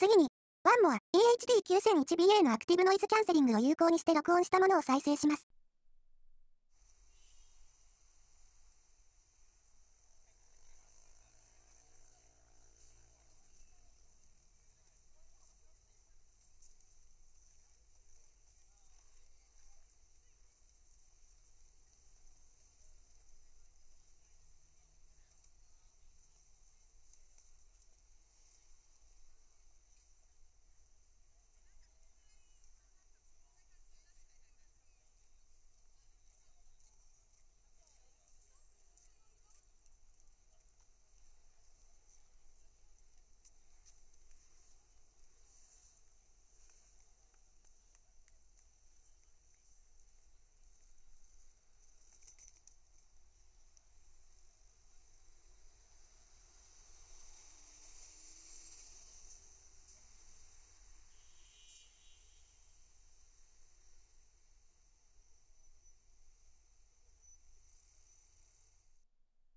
次に、ワンモア EHD9001BA のアクティブノイズキャンセリングを有効にして録音したものを再生します。